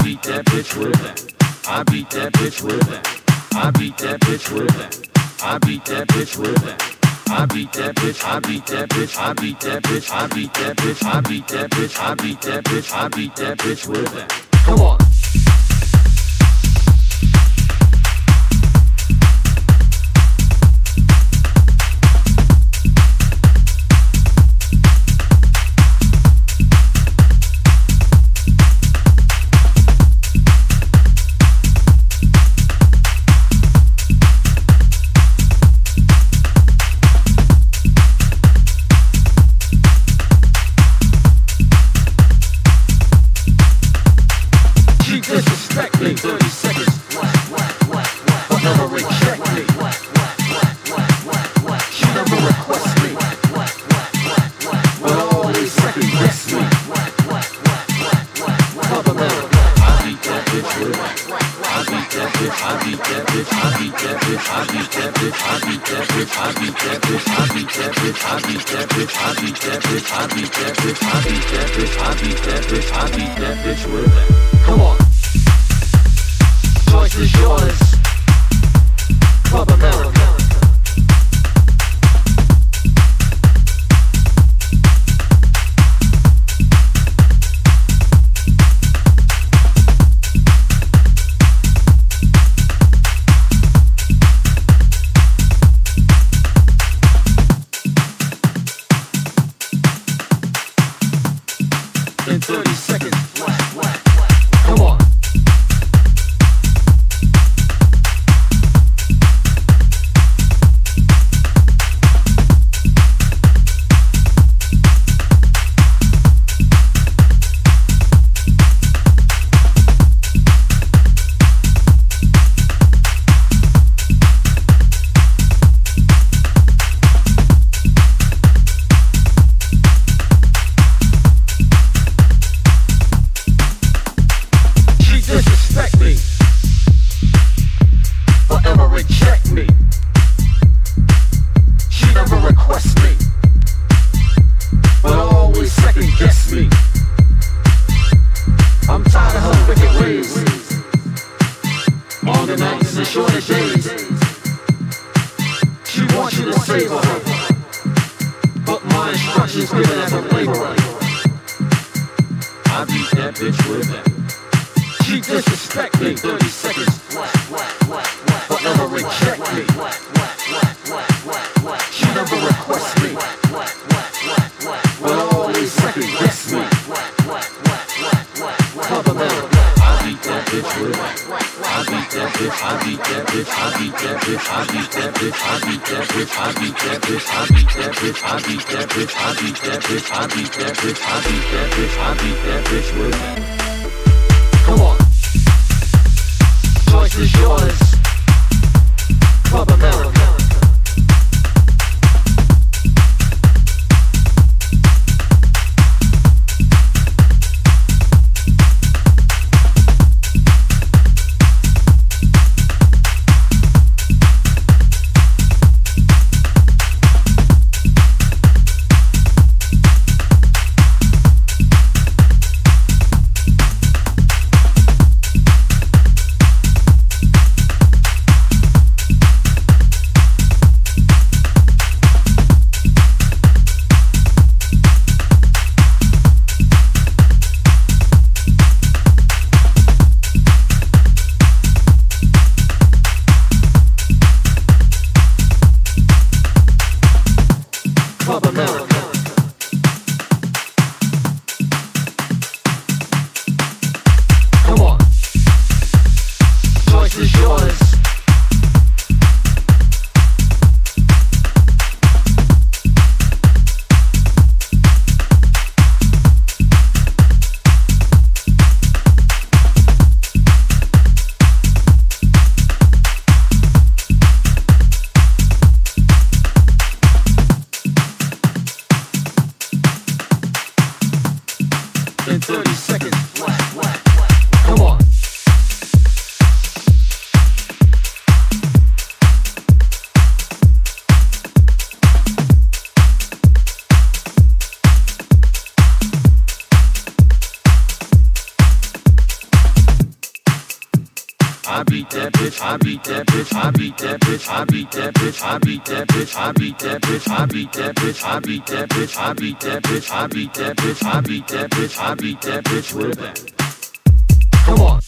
beat that bitch with that. I beat that bitch with that. I beat that bitch with that. I beat that bitch with that. I beat that bitch, I beat that bitch, I beat that bitch, I beat that bitch, I beat that bitch, I beat that bitch, I beat that bitch with that. Come on. I beat that bitch, I beat that bitch, I beat that bitch, I beat that bitch, I beat that bitch, I beat that bitch, I beat that bitch, I beat that bitch, I beat that bitch, I beat that bitch, I beat that bitch, I beat that bitch with that. Come on.